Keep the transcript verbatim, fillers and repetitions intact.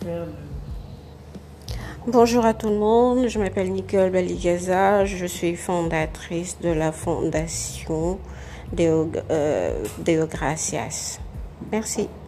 faire le... Bonjour à tout le monde, je m'appelle Nicole Baligaza, je suis fondatrice de la fondation Deo, euh, Deo Gracias. Merci.